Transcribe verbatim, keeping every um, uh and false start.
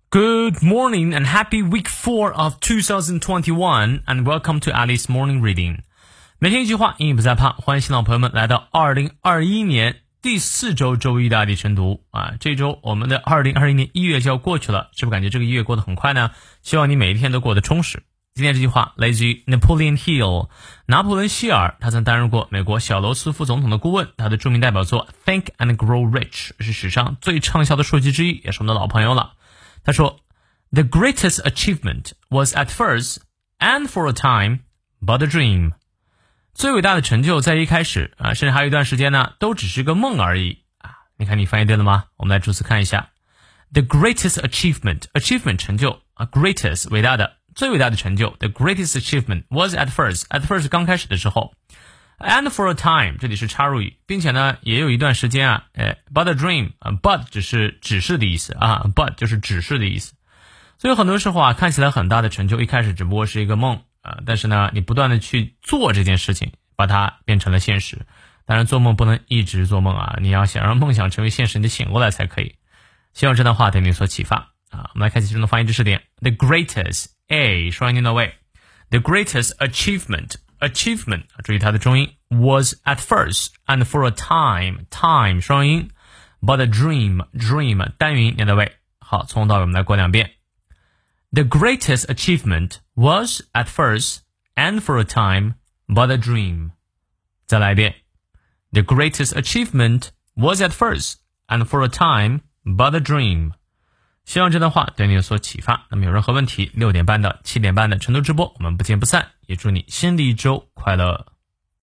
Good morning and happy week four of twenty twenty-one and welcome to Alice Morning Reading. 每天一句话，英语不再怕。欢迎新老朋友们来到二零二一年第四周周一的爱迪晨读啊！这周我们的二零二一年一月就要过去了，是不是感觉这个一月过得很快呢？希望你每一天都过得充实。今天这句话来自于 Napoleon Hill， 拿破仑希尔，他曾担任过美国小罗斯福总统的顾问。他的著名代表作 Think and Grow Rich 是史上最畅销的书籍之一，也是我们的老朋友了。他说 The greatest achievement was at first and for a time but a dream。 最伟大的成就在一开始啊，甚至还有一段时间呢，都只是个梦而已啊！你看你翻译对了吗？我们来逐词看一下 The greatest achievement achievement 成就啊 greatest 伟大的最伟大的成就 The greatest achievement was at first at first 刚开始的时候 and for a time 这里是插入语，并且呢也有一段时间啊，呃 but a dream 啊 but 只是指示的意思啊 but 就是指示的意思。所以很多时候啊，看起来很大的成就一开始只不过是一个梦啊，但是呢你不断的去做这件事情，把它变成了现实。当然做梦不能一直做梦啊，你要想让梦想成为现实，你得醒过来才可以。希望这段话对你所启发啊。我们来看其中的发音知识点 The greatest A 双音念到位 The greatest achievement achievement 注意它的重音 was at first and for a time time 双音 but a dream dream 单元音念到位。好，从头到尾我们来过两遍。The greatest achievement was at first and for a time but a dream 再来一遍。The greatest achievement was at first and for a time but a dream 希望这段话对你有所启发。那么有任何问题，六点半到七点半的晨读直播我们不见不散，也祝你新的一周快乐。